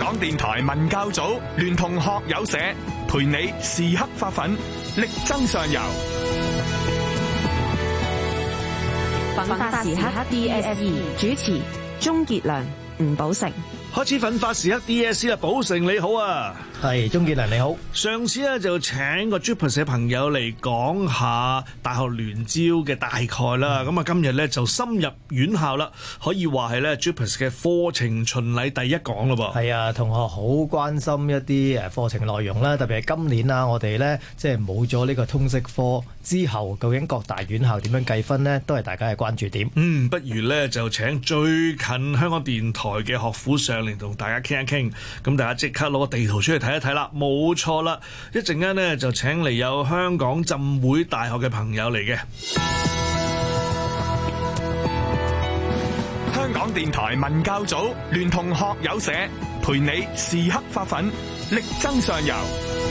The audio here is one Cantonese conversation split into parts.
港電台文教組聯同學友社，陪你時刻發奮，力爭上游。 奮發時刻 DSE 主持鍾傑良、吳寶成。 開始奮發時刻 DSE 啦，寶成你好啊， 係鍾傑良你好。 上次咧就請個 JUPAS 嘅朋友嚟講下大學聯招嘅大概啦，咁啊今日咧就深入院校啦，可以話係咧 JUPAS 嘅課程巡禮第一講咯噃。 係啊，同學好關心一啲課程內容啦，特別係今年啊，我哋咧即係冇咗呢個通識科之後，究竟各大院校點樣計分呢？都係大家嘅關注點。 不如咧就請最近香港電台嘅學府上嚟同大家傾一傾，咁大家即刻攞個地圖出嚟睇一睇啦。冇錯啦，一陣間呢就請嚟有香港浸會大學嘅朋友嚟嘅。 香港電台文教組聯同學友社，陪你時刻發奮，力爭上游。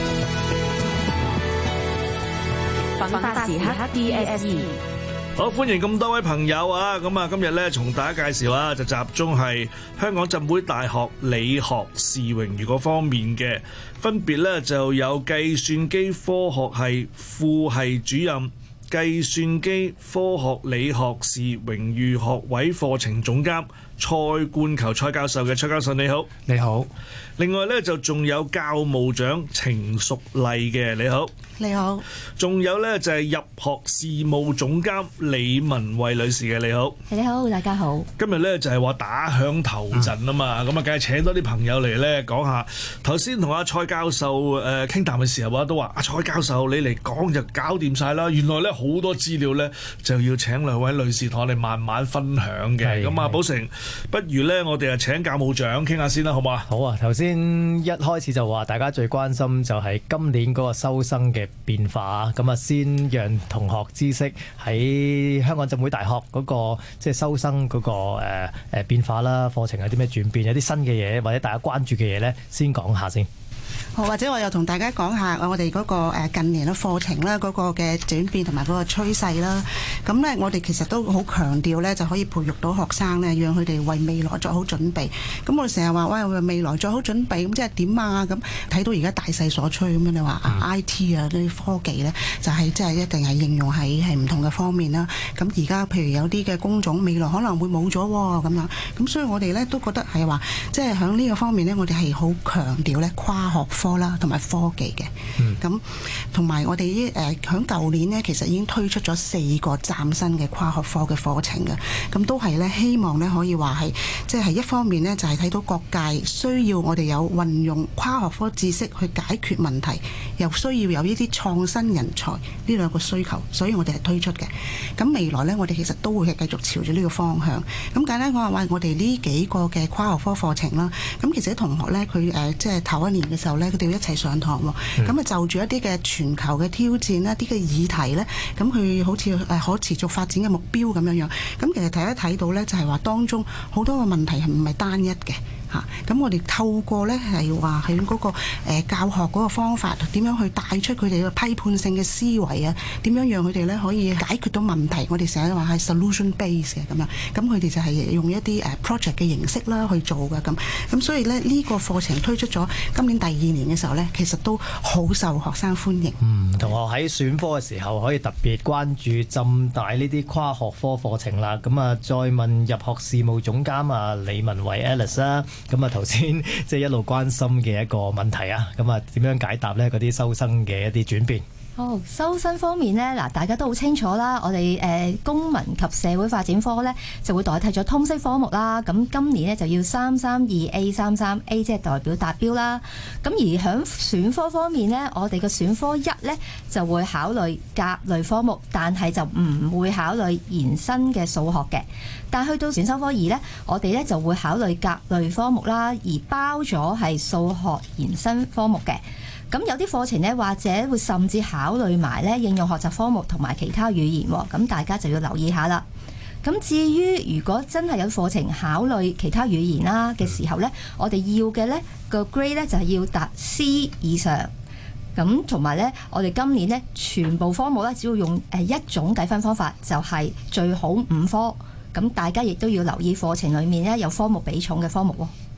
奮發時刻 DSE。 好，歡迎咁多位朋友啊！咁啊，今日咧同大家介紹啊，就集中係香港浸會大學理學士榮譽嗰方面嘅，分別咧就有計算機科學系副系主任、計算機科學理學士榮譽學位課程總監蔡冠球蔡教授嘅。蔡教授你好。 你好。 另外咧就仲有教務長程淑麗嘅。你好。 你好。 仲有咧就係入學事務總監李文慧女士嘅。你好。 你好，大家好。 今日咧就係話打響頭陣啊嘛，咁啊梗係請多啲朋友嚟咧講下。頭先同阿蔡教授傾談嘅時候啊，都話阿蔡教授你嚟講就搞掂晒啦。原來咧好多資料咧就要請兩位女士同我哋慢慢分享嘅。咁啊，寶成，不如咧我哋啊請教務長傾下先啦，好嘛？ 好啊，頭先一開始就話大家最關心就係今年嗰個收生嘅變化，咁啊先讓同學知識喺香港浸會大學嗰個即係收生嗰個變化啦，課程有啲咩轉變，有啲新嘅嘢或者大家關注嘅嘢咧，先講下先。 好，或者我又同大家講下我哋嗰個近年嘅課程啦，嗰個嘅轉變同埋嗰個趨勢啦。咁呢，我哋其實都好強調呢，就可以培育到學生呢，讓佢哋為未來作好準備。咁我哋成日話喂，為未來作好準備，咁即係點啊？咁睇到而家大勢所趨咁樣，你話IT 啊啲科技呢，就係即係一定係應用喺唔同嘅方面啦。咁而家譬如有啲嘅工種未來可能會冇咗喎，咁樣。咁所以我哋呢，都覺得係話，即係喺呢個方面呢，我哋係好強調呢跨學科啦，同埋科技嘅，咁同埋我哋響舊年呢，其實已經推出咗4個嶄新嘅跨學科嘅課程嘅，咁都係呢，希望呢可以話係，即係一方面呢，就係睇到各界需要我哋有運用跨學科知識去解決問題，又需要有呢啲創新人才呢兩個需求，所以我哋係推出嘅。咁未來呢，我哋其實都會係繼續朝住呢個方向。咁簡單講話，我哋呢幾個嘅跨學科課程啦，咁其實啲同學呢，佢即係頭一年嘅時候呢，佢哋要一齊上堂喎。咁啊就住一啲嘅全球嘅挑戰啦，啲嘅議題呢，咁佢好似可持續發展嘅目標咁樣樣。咁其實睇到呢，就係話當中好多個問題係唔係單一嘅。咁我哋透過呢係話喺嗰個教學嗰個方法，點樣去帶出佢哋嘅批判性嘅思維啊？點樣讓佢哋呢可以解決到問題？我哋成日話係 solution base 嘅咁樣，咁佢哋就係用一啲project 嘅形式啦去做嘅咁所以呢，呢個課程推出咗今年第2年嘅時候呢，其實都好受學生歡迎。 同學喺選科嘅時候可以特別關注浸大呢啲跨學科課程啦。咁啊，再問入學事務總監啊李文慧 Alice 啦。咁啊，頭先即係一路關心嘅一個問題啊，咁啊點樣解答呢？嗰啲收生嘅一啲轉變。 好，收生方面呢，嗱，大家都好清楚啦。我哋公民及社會發展科呢，就會代替咗通識科目啦。咁今年呢，就要332A33A，即係代表達標啦。咁而響選科方面呢，我哋嘅選科1呢，就會考慮甲類科目，但係就唔會考慮延伸嘅數學嘅。但係去到選修科2呢，我哋呢就會考慮甲類科目啦，而包咗係數學延伸科目嘅。咁有啲課程呢，或者會甚至考慮埋呢應用學習科目同埋其他語言喎，咁大家就要留意下啦。咁至於如果真係有課程考慮其他語言啦嘅時候呢，我哋要嘅呢個 grade 呢就係要達 C 以上。咁同埋呢，我哋今年呢全部科目呢，只要用一種計分方法，就係最好5科。咁大家亦都要留意課程裡面呢有科目比重嘅科目喎。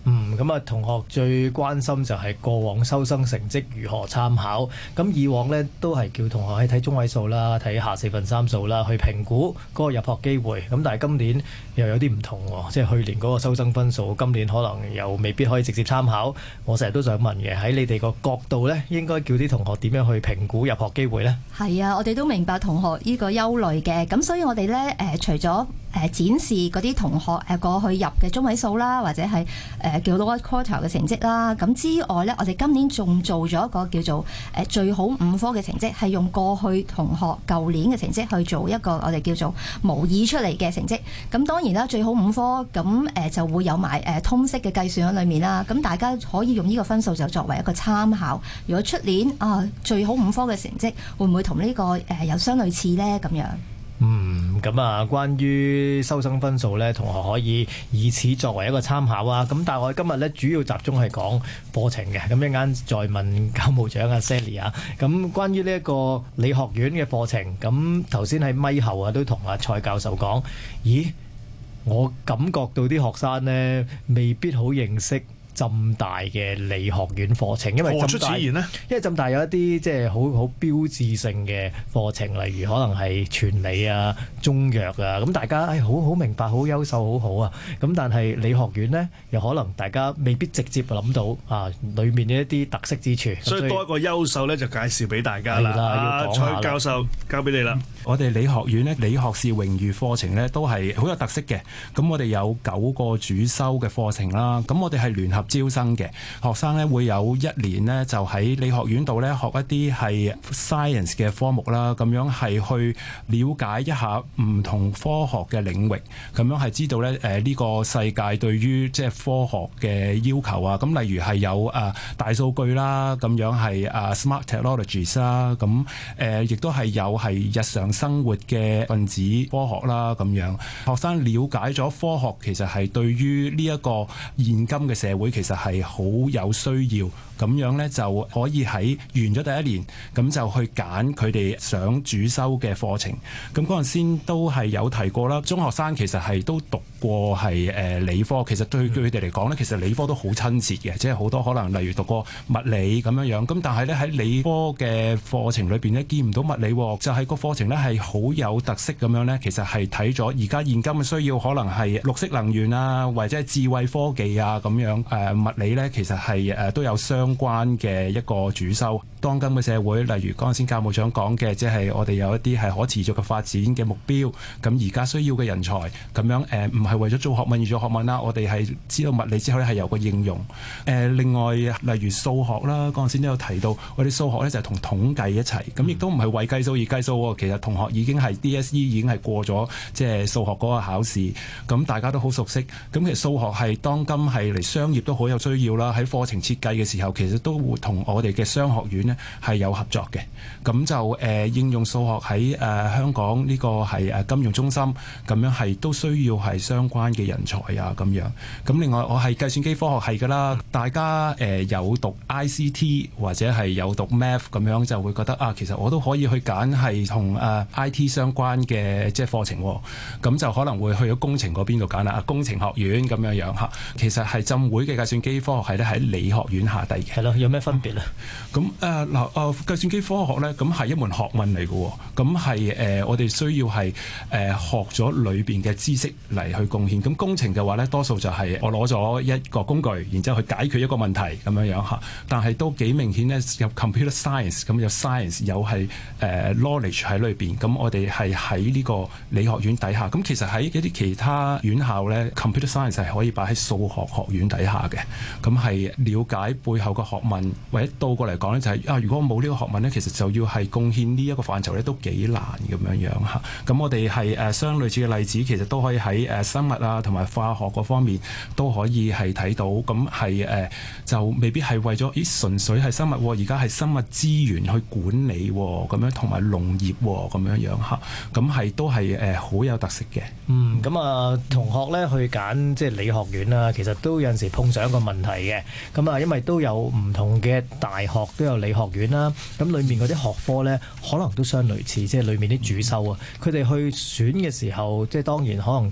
咁啊，同學最關心就係過往收生成績如何參考。咁以往呢都係叫同學喺睇中位數啦，睇下3/4數啦，去評估嗰個入學機會。咁但係今年又有啲唔同喎，即係去年嗰個收生分數，今年可能又未必可以直接參考。我成日都想問嘅，喺你哋個角度呢，應該叫啲同學點樣去評估入學機會呢？係啊， 我哋都明白同學呢個憂慮嘅，咁所以我哋呢，除咗展示嗰啲同學過去入嘅中位數啦，或者係叫 lower quarter 嘅成績啦，咁之外呢，我哋今年仲做咗一個叫做最好5科嘅成績，係用過去同學舊年嘅成績去做一個我哋叫做模擬出嚟嘅成績。咁當然啦，最好5科咁就會有埋通識嘅計算喺裏面啦。咁大家可以用呢個分數就作為一個參考。如果出年最好5科嘅成績會唔會同呢個有相類似呢？咁樣。 咁啊，關於收生分數呢，同學可以以此作為一個參考啊。咁但係我哋今日呢，主要集中係講課程嘅。咁一陣間再問教務長阿 Sally 啊。咁關於呢一個理學院嘅課程，咁頭先喺咪後啊都同阿蔡教授講，咦，我感覺到啲學生呢未必好認識浸大嘅理學院課程，因為浸大有一啲即係好標誌性嘅課程，例如可能係全理啊、中藥啊，咁大家好明白、好優秀、好好啊。咁但係理學院呢，又可能大家未必直接諗到裏面嘅一啲特色之處。 所以多一個優秀咧，就介紹俾大家啦。蔡教授交俾你啦。 我哋理學院呢，理學士榮譽課程呢，都係好有特色嘅。咁我哋有9個主修嘅課程啦。咁我哋係聯合招生嘅學生咧，會有1年呢，就喺理學院度咧學一啲係 science 嘅科目啦，咁樣係去了解一下唔同科學嘅領域，咁樣係知道咧呢個世界對於即係科學嘅要求啊。咁例如係有大數據啦，咁樣係smart technologies 啦，咁亦都係有係日常生活嘅分子科學啦，咁樣學生了解咗科學其實係對於呢一個現今嘅社會其實係好有需要。咁樣呢，就可以喺完咗第1年，咁就去揀佢哋想主修嘅課程。咁嗰陣先都係有提過啦。中學生其實係都讀過係理科，其實對佢哋嚟講呢，其實理科都好親切嘅，即係好多可能例如讀過物理咁樣樣。咁但係呢，喺理科嘅課程裏邊呢，見唔到物理，就係個課程呢係好有特色咁樣呢。其實係睇咗而家現今嘅需要，可能係綠色能源啊，或者係智慧科技啊咁樣。物理呢，其實係都有相關嘅一個主修。當今嘅社會，例如剛先教務長講嘅，即係我哋有一啲係可持續嘅發展嘅目標。咁而家需要嘅人才，咁樣唔係為咗做學問而做學問啦。我哋係知道物理之後咧係有個應用。另外例如數學啦，剛先都有提到，我哋數學咧就係同統計一齊，咁亦都唔係為計數而計數喎。其實同學已經係 DSE 已經係過咗即係數學嗰個考試，咁大家都好熟悉。咁其實數學係當今係嚟商業都好有需要啦。喺課程設計嘅時候，其實都會同我哋嘅商學院呢係有合作嘅。咁就應用數學喺香港呢個係金融中心，咁樣係都需要係相關嘅人才啊咁樣。咁另外我係計算機科學系㗎啦，大家有讀 ICT 或者係有讀 Math 咁樣，就會覺得其實我都可以去揀係同IT 相關嘅即係課程，咁就可能會去咗工程嗰邊度揀啦，工程學院咁樣樣嚇。其實係浸會嘅計算機科學系咧喺理學院下低嘅。 係咯，有咩分別咧？ 咁計算機科學咧，咁係一門學問嚟嘅，咁係我哋需要係學咗裏邊嘅知識嚟去貢獻。咁工程嘅話咧，多數就係我攞咗一個工具，然之後去解決一個問題咁樣樣嚇。但係都幾明顯咧，有 computer science 咁有 science 有係knowledge 喺裏邊。咁我哋係喺呢個理學院底下。咁其實喺一啲其他院校咧，computer science 係可以擺喺數學學院底下嘅。咁係了解背後嘅學問，或者倒過嚟講咧，就係如果冇呢個學問咧，其實就要係貢獻呢一個範疇咧，都幾難咁樣樣嚇。咁我哋係相類似嘅例子，其實都可以喺生物啊同埋化學嗰方面都可以係睇到。咁係就未必係為咗純粹係生物，而家係生物資源去管理咁樣，同埋農業咁樣樣嚇。咁係都係好有特色嘅。 咁同學咧去揀即係理學院啦，其實都有陣時碰上一個問題嘅。咁因為都有唔同嘅大學都有理學院啦，咁裡面嗰啲學科咧可能都相類似，即係裡面啲主修啊。佢哋去選嘅時候，即係當然可能其中一個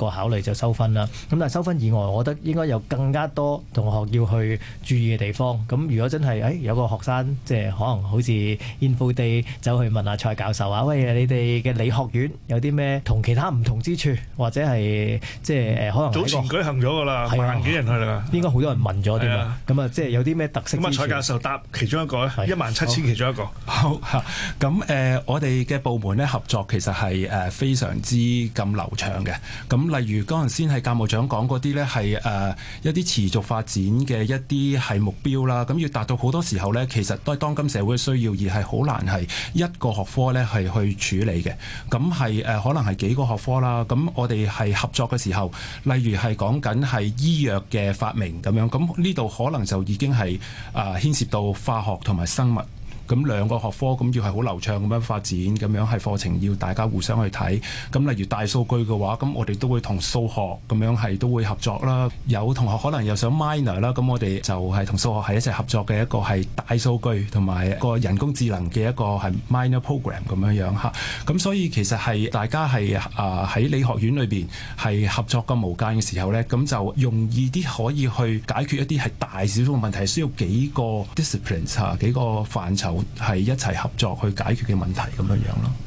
個考慮就收分啦。咁但係收分以外，我覺得應該有更加多同學要去注意嘅地方。咁如果真係有個學生即係可能好似 Info Day 走去問下蔡教授啊，喂，你哋嘅理學院有啲咩同其他唔同之處，或者係即係可能早前舉行咗㗎啦，萬幾人去啦， 應該好多人問咗添啊。咁啊，即係有啲咩特色之處？ 咁啊，蔡教授答其中一個咧，17000其中一個。 好嚇，咁我哋嘅部門咧合作其實係非常之咁流暢嘅。咁例如嗰陣先係教務長講嗰啲咧係一啲持續發展嘅一啲係目標啦。咁要達到好多時候咧，其實都係當今社會嘅需要，而係好難係一個學科咧係去處理嘅。咁係可能係幾個學科啦。咁我哋係合作嘅時候，例如係講緊係醫藥嘅發明咁樣，咁呢度可能就已經係牽涉到化學同埋生物。咁兩個學科咁要係好流暢咁樣發展，咁樣係課程要大家互相去睇。咁例如大數據嘅話，咁我哋都會同數學咁樣係都會合作啦。有同學可能又想 minor 啦，咁我哋就係同數學係一齊合作嘅一個係大數據同埋個人工智能嘅一個係 minor program 咁樣樣嚇。咁所以其實係大家係喺理學院裏邊係合作咁無間嘅時候咧，咁就容易啲可以去解決一啲係大少少嘅問題，需要幾個 disciplines 嚇幾個範疇。係一齊合作去解決嘅問題咁樣樣咯。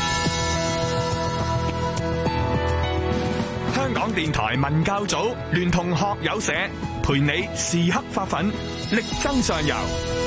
香港電台文教組聯同學友社，陪你時刻發奮，力爭上游。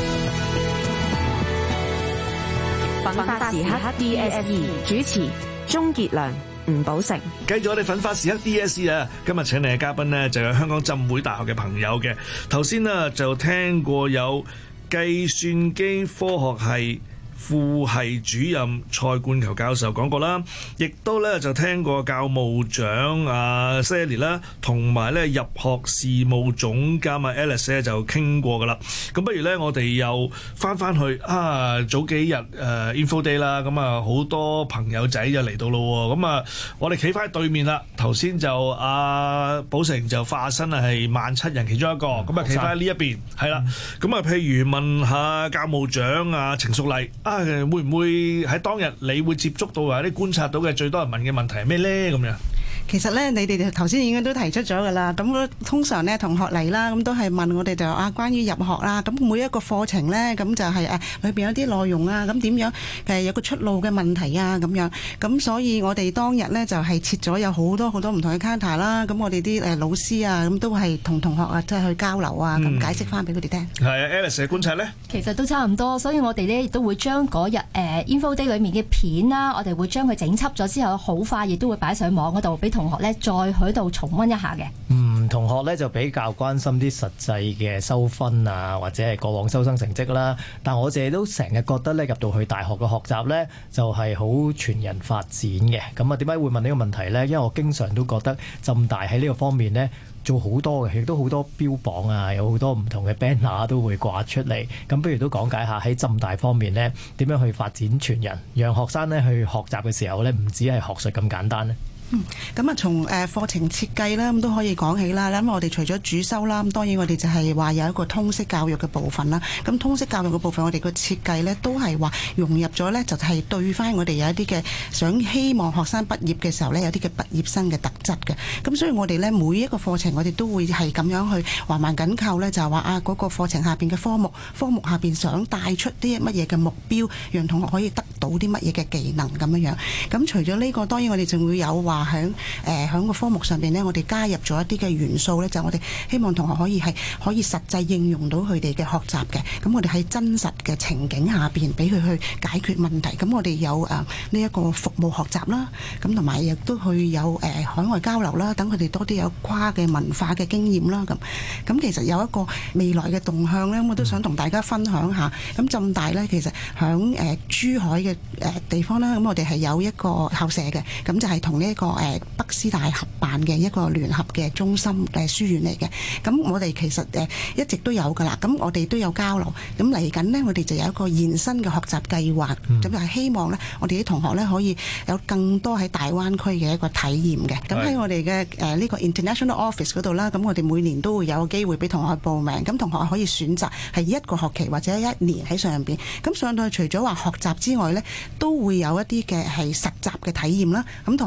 奮發時刻 DSE 主持鍾傑良、吳寶成。 繼續我哋奮發時刻 DSE 啊！今日請嚟嘅嘉賓呢，就有香港浸會大學嘅朋友嘅。頭先呢，就聽過有計算機科學系副系主任蔡冠球教授講過啦，亦都咧就聽過教務長阿 Sally 啦，同埋咧入學事務總監阿 Alice 咧就傾過噶啦。咁不如咧我哋又翻去早幾日Info Day 啦，咁啊好多朋友仔就嚟到咯。咁啊我哋企翻喺對面啦，頭先就阿寶成就化身係17000人其中一個，咁啊企翻喺呢一邊係啦。咁啊譬如問下教務長阿程淑麗。會唔會喺當日你會接觸到或者觀察到嘅最多人問嘅問題係咩咧？咁樣其實咧，你哋頭先已經都提出咗㗎啦。咁通常咧同學嚟啦，咁都係問我哋就關於入學啦。咁每一個課程咧，咁就係裏邊有啲內容啊，咁點樣有個出路嘅問題啊咁樣。咁所以我哋當日咧就係設咗有好多唔同嘅 counter 啦。咁我哋啲老師啊，咁都係同同學啊即係去交流啊，咁解釋翻俾佢哋聽。 係啊 Alice 嘅觀察咧， 其實都差唔多。所以我哋咧亦都會將嗰日Info Day 裏面嘅片啦，我哋會將佢整輯咗之後，好快亦都會擺上網嗰度俾同學咧再喺度重溫一下嘅。 同學咧就比較關心啲實際嘅收分啊，或者係過往收生成績啦。但我哋都成日覺得咧，入到去大學嘅學習咧，就係好全人發展嘅。咁啊，點解會問呢個問題咧？因為我經常都覺得浸大喺呢個方面咧做好多嘅，亦都好多標榜啊，有好多唔同嘅 banner 都會掛出嚟。咁不如都講解下喺浸大方面咧，點樣去發展全人，讓學生咧去學習嘅時候咧，唔止係學術咁簡單咧。 咁從課程設計啦，咁都可以講起啦。咁我哋除咗主修啦，咁當然我哋就係話有一個通識教育嘅部分啦。咁通識教育嘅部分，我哋個設計呢都係話融入咗呢，就係對翻我哋有一啲嘅希望學生畢業嘅時候呢，有啲嘅畢業生嘅特質嘅。咁所以我哋呢，每一個課程，我哋都會係咁樣去環環緊扣呢，就係話嗰個課程下邊嘅科目下邊想帶出啲乜嘢嘅目標，讓同學可以得到啲乜嘢嘅技能咁樣樣。咁除咗呢個，當然我哋仲會有話響個科目上邊呢，我哋加入咗一啲嘅元素呢，就我哋希望同學可以實際應用到佢哋嘅學習嘅。咁我哋喺真實嘅情景下邊俾佢去解決問題。咁我哋有呢一個服務學習啦，咁同埋亦都去有海外交流啦，等佢哋多啲有跨嘅文化嘅經驗啦。咁其實有一個未來嘅動向呢，我都想同大家分享下。咁浸大呢，其實響珠海嘅地方啦，咁我哋係有一個校舍嘅，咁就係同呢一個北師大合辦嘅一個聯合嘅中心書院嚟嘅。咁我哋其實一直都有㗎啦。咁我哋都有交流。咁嚟緊呢，我哋就有一個延伸嘅學習計劃。咁就係希望呢，我哋啲同學呢，可以有更多喺大灣區嘅一個體驗嘅。咁喺我哋嘅呢個 International Office 嗰度啦，咁我哋每年都會有機會俾同學報名。咁同學可以選擇係一個學期或者一年喺上邊。咁上到去除咗話學習之外呢，都會有一啲嘅係實習嘅體驗啦。咁同埋呢，我哋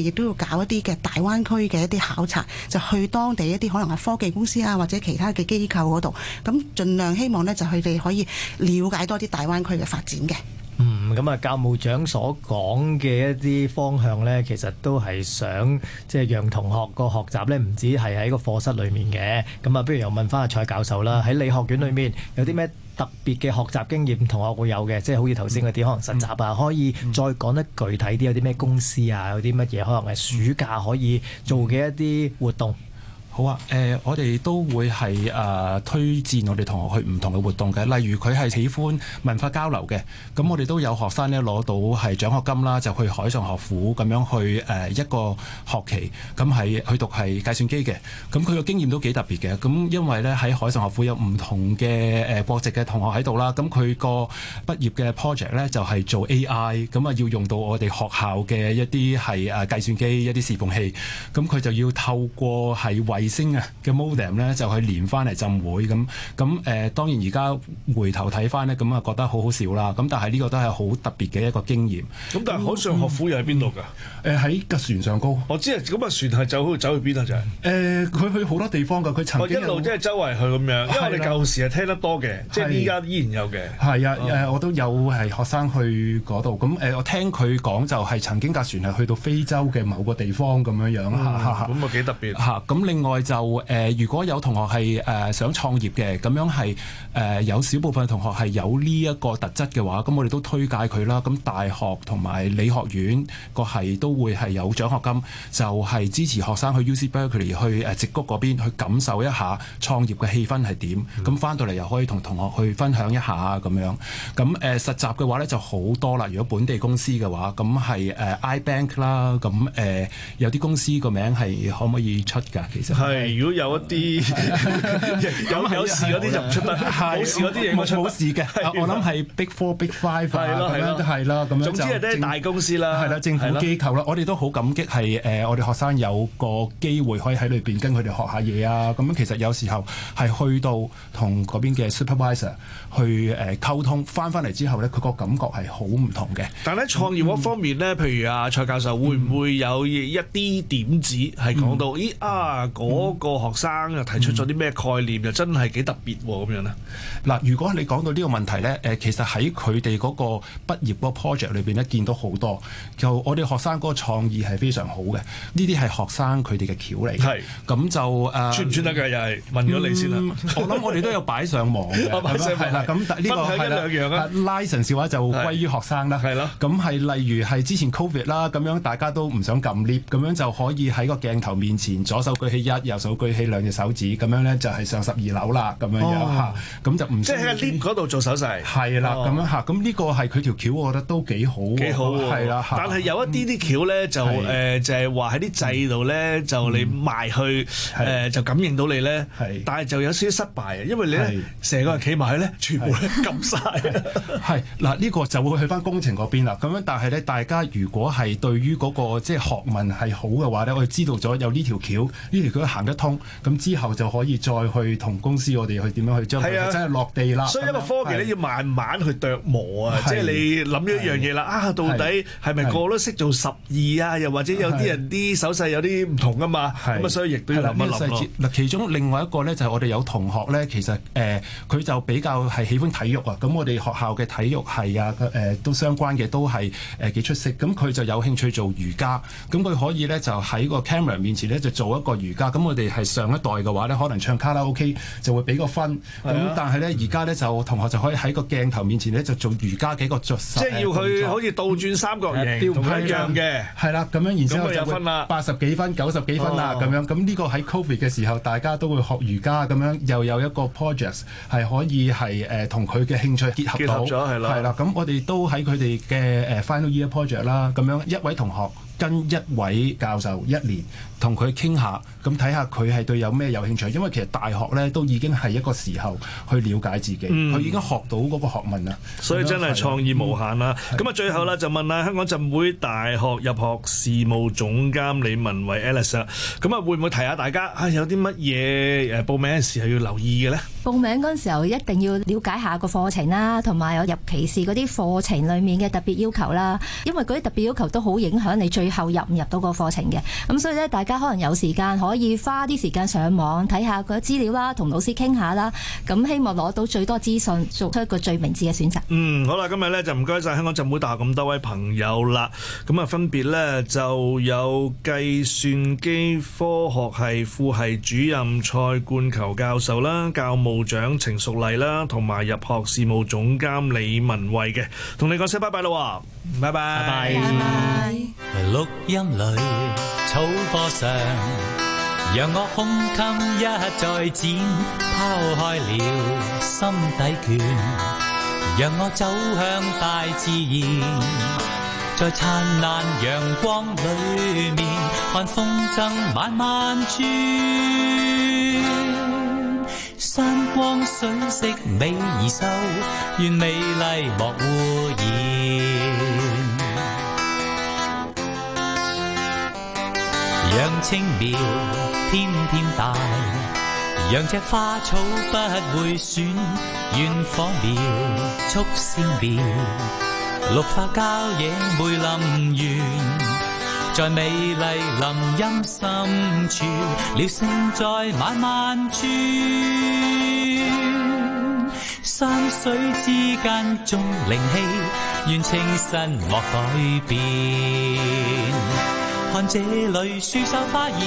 亦都要搞一啲嘅大灣區嘅一啲考察，就去當地一啲可能係科技公司啊，或者其他嘅機構嗰度，咁盡量希望呢，就佢哋可以了解多啲大灣區嘅發展嘅。 咁啊，教務長所講嘅一啲方向呢，其實都係想即係讓同學個學習呢，唔止係喺個課室裡面嘅。咁啊，不如又問翻阿蔡教授啦，喺理學院裏面有啲咩特別嘅學習經驗同學會有嘅？即係好似頭先嗰啲可能實習啊，可以再講得具體啲，有啲咩公司啊，有啲乜嘢可能係暑假可以做嘅一啲活動？ 好啊，我哋都會係推薦我哋同學去唔同嘅活動嘅，例如佢係喜歡文化交流嘅，咁我哋都有學生咧攞到係獎學金啦，就去海上學府咁樣去一個學期，咁係去讀係計算機嘅，咁佢個經驗都幾特別嘅，咁因為咧喺海上學府有唔同嘅國籍嘅同學喺度啦，咁佢個畢業嘅 project 咧就係做 AI，咁啊要用到我哋學校嘅一啲係計算機一啲視伺器，咁佢就要透過係衛星啊嘅 modem 咧就去連翻嚟浸會咁當然而家回頭睇翻咧，咁啊覺得好好笑啦。咁但係呢個都係好特別嘅一個經驗。 咁但係海上學府又喺邊度㗎？ 喺架船上高。 我知啊，咁啊船係走去邊啊？就係佢去好多地方㗎。佢曾經一路即係周圍去咁樣。因為我哋舊時係聽得多嘅，即係依家依然有嘅。係啊，我都有係學生去嗰度。咁我聽佢講就係曾經架船係去到非洲嘅某個地方咁樣樣。 咁啊幾特別嚇。咁另外就如果有同學係想創業嘅，咁樣係有少部分同學係有呢一個特質嘅話，咁我哋都推介佢啦。咁大學同埋理學院個係都會係有獎學金，就係支持學生去 UC Berkeley 去矽谷嗰邊去感受一下創業嘅氣氛係點。咁翻到嚟又可以同同學去分享一下咁樣。咁實習嘅話咧就好多啦。如果本地公司嘅話，咁係iBank 啦。咁有啲公司個名係可唔可以出㗎？其實係，如果有一啲有事嗰啲就唔出得，冇事嗰啲嘢冇事嘅。我諗係 Big Four、Big Five 咁樣都係啦。咁樣總之係啲大公司啦， 係啦，政府機構啦。我哋都好感激係我哋學生有個機會可以喺裏邊跟佢哋學下嘢啊。咁樣其實有時候係去到同嗰邊嘅 supervisor 去溝通，翻嚟之後咧，佢個感覺係好唔同嘅。 但係喺創業嗰方面咧，譬如阿蔡教授會唔會有一啲點子係講到嗰個學生又提出咗啲咩概念，又真係幾特別喎咁樣咧？嗱， 如果你講到呢個問題咧，其實喺佢哋嗰個畢業嗰個 project 裏邊咧，見到好多，就我哋學生嗰個創意係非常好嘅。呢啲係學生佢哋嘅橋嚟。係。咁就算唔算得㗎？又係問咗你先啦。 我諗我哋都有擺上網嘅。係啦。咁呢個係啦。分享一兩樣啊。license 嘅話就歸於學生啦。係咯。咁係例如係之前 Covid 啦，咁樣大家都唔想撳 lift，咁樣就可以喺個鏡頭面前左手舉起一，右手舉起兩隻手指，咁樣咧就係上12樓啦，咁樣樣嚇，咁就唔即係喺 lift 嗰度做手勢。 係啦，咁樣嚇，咁呢個係佢條橋，我覺得都幾好。幾好喎。係啦。但係有一啲橋咧就就係話喺啲掣度咧，就你埋去就感應到你咧。係。但係就有少少失敗啊，因為你咧成個人企埋去咧，全部咧撳晒。 係嗱，呢個就會去翻工程嗰邊啦。咁樣，但係咧，大家如果係對於嗰個即係學問係好嘅話咧，我哋知道咗有呢條橋，呢條橋行得通，咁之後就可以再去同公司我哋去點樣去將佢真係落地啦。 所以一個科技咧要慢慢去琢磨啊，即係你諗咗一樣嘢啦，到底係咪個個都識做12啊？又或者有啲人啲手勢有啲唔同噶嘛？咁啊，所以亦都要諗一諗咯。 嗱，其中另外一個咧就係我哋有同學咧，其實佢就比較係喜歡體育啊。咁我哋學校嘅體育係啊都相關嘅，都係幾出色。咁佢就有興趣做瑜伽，咁佢可以咧就喺個 camera 面前咧就做一個瑜伽。咁我哋係上一代嘅話咧，可能唱卡拉 OK 就會俾個分。咁但係咧而家咧就同學就可以喺個鏡頭面前咧就做瑜伽幾個姿勢。 即係要佢好似倒轉三角形同佢一樣嘅。 係啦，咁樣然之後就會80幾分、90幾分啦咁樣。咁呢個喺 Covid 嘅時候，大家都會學瑜伽咁樣，又有一個 project 係可以係同佢嘅興趣結合到。係啦，咁我哋都喺佢哋嘅final year project 啦，咁樣一位同學跟一位教授1年同佢傾下，咁睇下佢係對有咩有興趣。因為其實大學咧都已經係一個時候去了解自己，佢已經學到嗰個學問啦。 所以真係創意無限啦。咁啊，最後啦就問下香港浸會大學入學事務總監李文慧 Alice 啦。咁啊，會唔會提下大家有啲乜嘢報名嘅時候要留意嘅咧？ 報名嗰陣時候一定要了解下個課程啦，同埋有尤其是嗰啲課程裡面嘅特別要求啦。因為嗰啲特別要求都好影響你最後入唔入到個課程嘅。咁所以咧，大家可能有時間可以花啲時間上網睇下嗰啲資料啦，同老師傾下啦。咁希望攞到最多資訊，做出一個最明智嘅選擇。 好啦，今日咧就唔該晒香港浸會大學咁多位朋友啦。咁啊，分別咧就有計算機科學系副系主任蔡冠球教授啦、教務長程淑麗啦，同埋入學事務總監李文慧嘅，同你講聲拜拜啦，拜拜， 拜拜。 錄音裏草坡上，讓我胸襟一再展，拋開了心底倦，讓我走向大自然，在燦爛陽光裏面，看風箏慢慢轉，山光水色美而秀，願美麗莫污染。讓青苗天天大，讓隻花草不會損，願火苗速鮮苗，綠化郊野梅林園，在美麗林蔭深處，鳥聲在慢慢轉，山水之間縱靈氣，願清新莫改變。看這裏樹秀花現，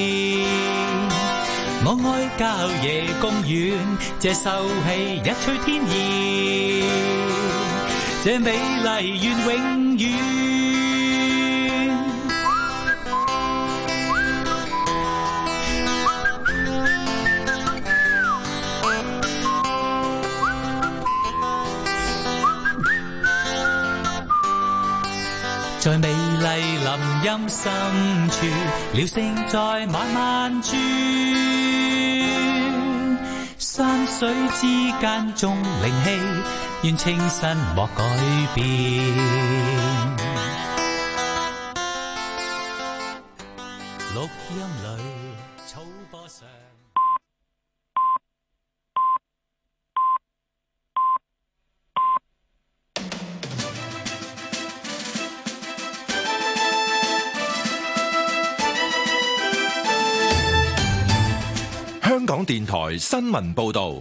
我愛郊野公園，這秀氣一吹天然，這美麗願永遠。在美麗林蔭深處，鳥聲在慢慢轉，山水之間縱靈氣，願清新莫改變。錄音裏草坡上。 香港電台新聞報導，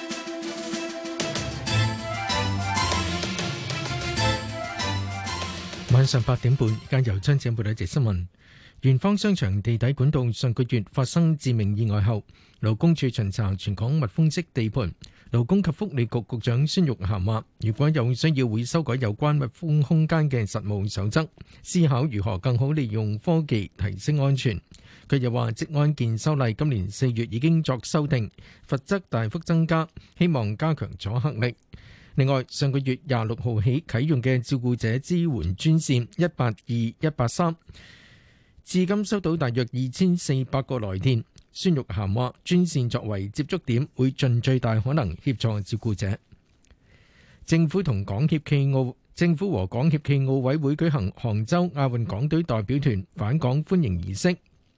晚上8點半，而家由張子報道一節新聞。元芳商場地底管道上個月發生致命意外後，勞工處巡查全港密封式地盤。勞工及福利局局長孫玉菡話，如果有需要，會修改有關密封空間嘅實務守則，思考如何更好利用科技提升安全。佢又話，職安健修例今年4月已經作修訂，罰則大幅增加，希望加強阻嚇力。另外，上個月26號起啟用嘅照顧者支援專線182-183，至今收到大約2400個來電。孫玉菡話，專線作為接觸點，會盡最大可能協助照顧者。政府和港協暨奧委會舉行杭州亞運港隊代表團返港歡迎儀式。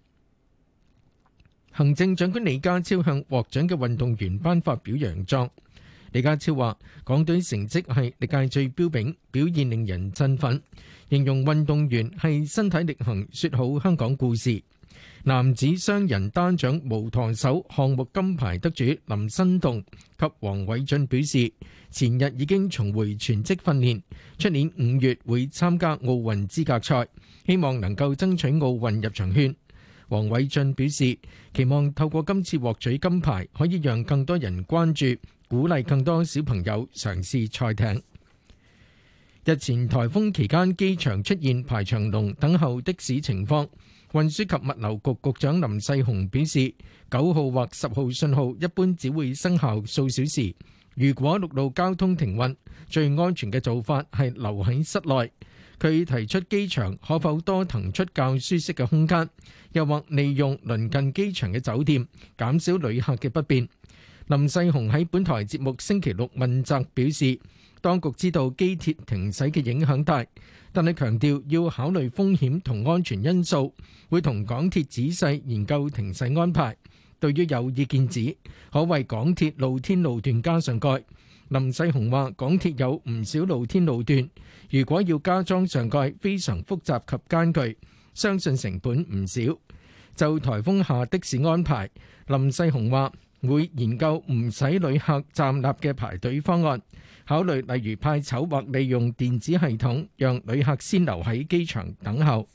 行政長官李家超向獲獎嘅運動員頒發表揚狀。李家超話，港隊成績係歷屆最標炳，表現令人振奮，形容運動員係身體力行說好香港故事。男子雙人單槳無舵手項目金牌得主林新棟及黃偉俊表示，前日已經重回全職訓練，出年5月會參加奧運資格賽，希望能夠爭取奧運入場券。黃偉俊表示，期望透過今次獲取金牌，可以讓更多人關注，鼓勵更多小朋友嘗試賽艇。日前颱風期間，機場出現排長龍等候的士情況。運輸及物流局局長林世雄表示，9號或10號信號一般只會生效數小時。如果陸路交通停運，最安全嘅做法係留喺室內。 佢提出機場可否多騰出較舒適嘅空間，又或利用鄰近機場嘅酒店，減少旅客嘅不便。林世雄喺本台節目星期六問責表示，當局知道機鐵停駛嘅影響大，但係強調要考慮風險同安全因素，會同港鐵仔細研究停駛安排。對於有意見指可為港鐵露天路段加上蓋，林世雄話港鐵有唔少露天路段，如果要加裝上蓋，非常複雜及艱巨，相信成本唔少。就颱風下的士安排，林世雄話會研究唔使旅客站立嘅排隊方案，考慮例如派籌或利用電子系統，讓旅客先留喺機場等候。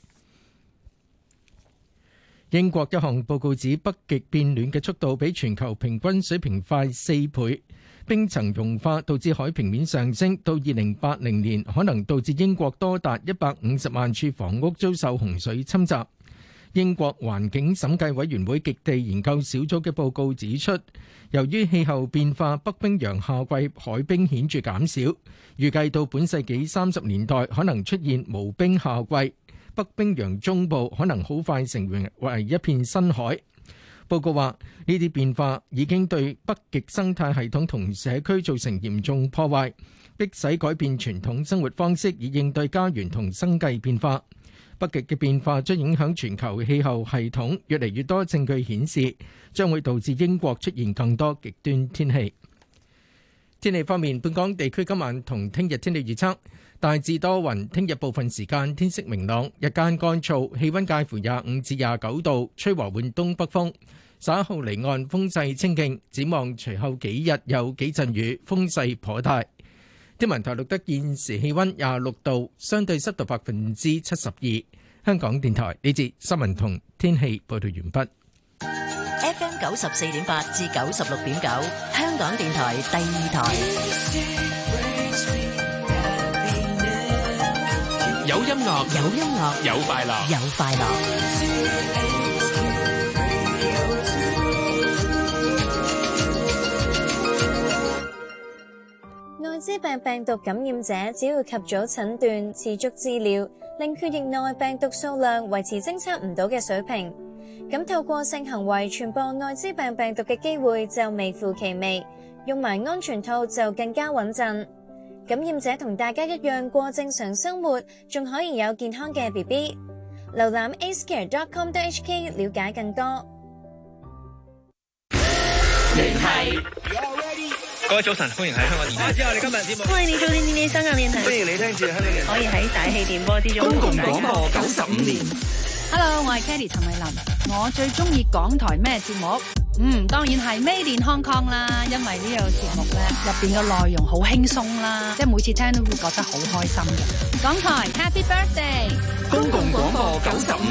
英國一項報告指，北極變暖嘅速度比全球平均水平快4倍，冰層融化導致海平面上升，到2080年可能導致英國多達150萬處房屋遭受洪水侵襲。英國環境審計委員會極地研究小組嘅報告指出，由於氣候變化，北冰洋夏季海冰顯著減少，預計到本世紀30年代可能出現無冰夏季，北冰洋中部可能好快成為一片深海。報告話，呢啲變化已經對北極生態系統同社區造成嚴重破壞，迫使改變傳統生活方式以應對家園同生計變化。北極嘅變化將影響全球氣候系統，越嚟越多證據顯示將會導致英國出現更多極端天氣。天氣方面，本港地區今晚同聽日天氣預測大致多雲，聽日部分時間天色明朗，日間乾燥，氣溫介乎25至29度，吹和緩東北風，稍後離岸風勢清勁。展望隨後幾日有幾陣雨，風勢頗大。天文台錄得現時氣溫26度，相對濕度72%。香港電台呢節新聞同天氣報道完畢。 FM 94.8至96.9，香港電台第二台。 有音樂， 有音樂， 有快樂， 有快樂。 艾滋病病毒感染者只要及早診斷、持續治療，令血液內病毒數量維持偵測唔到嘅水平，咁透過性行為傳播艾滋病病毒嘅機會就微乎其微，用埋安全套就更加穩陣。感染者同大家一樣過正常生活，仲可以有健康嘅 BB。瀏覽 acecare.com.hk 了解更多。 聯繫各位早晨，歡迎喺香港電台。之後，你今日節目， 歡迎你做電視香港電台。 歡迎你聽住香港電台。 可以喺大氣電波之中。 公共廣播95年。 Hello， 我係 Kelly 陳慧琳。我最中意港台咩節目？當然係 Made in Hong Kong 啦，因為呢個節目咧入邊嘅內容好輕鬆啦，即係每次聽都會覺得好開心嘅。港台 Happy Birthday！ 公共廣播95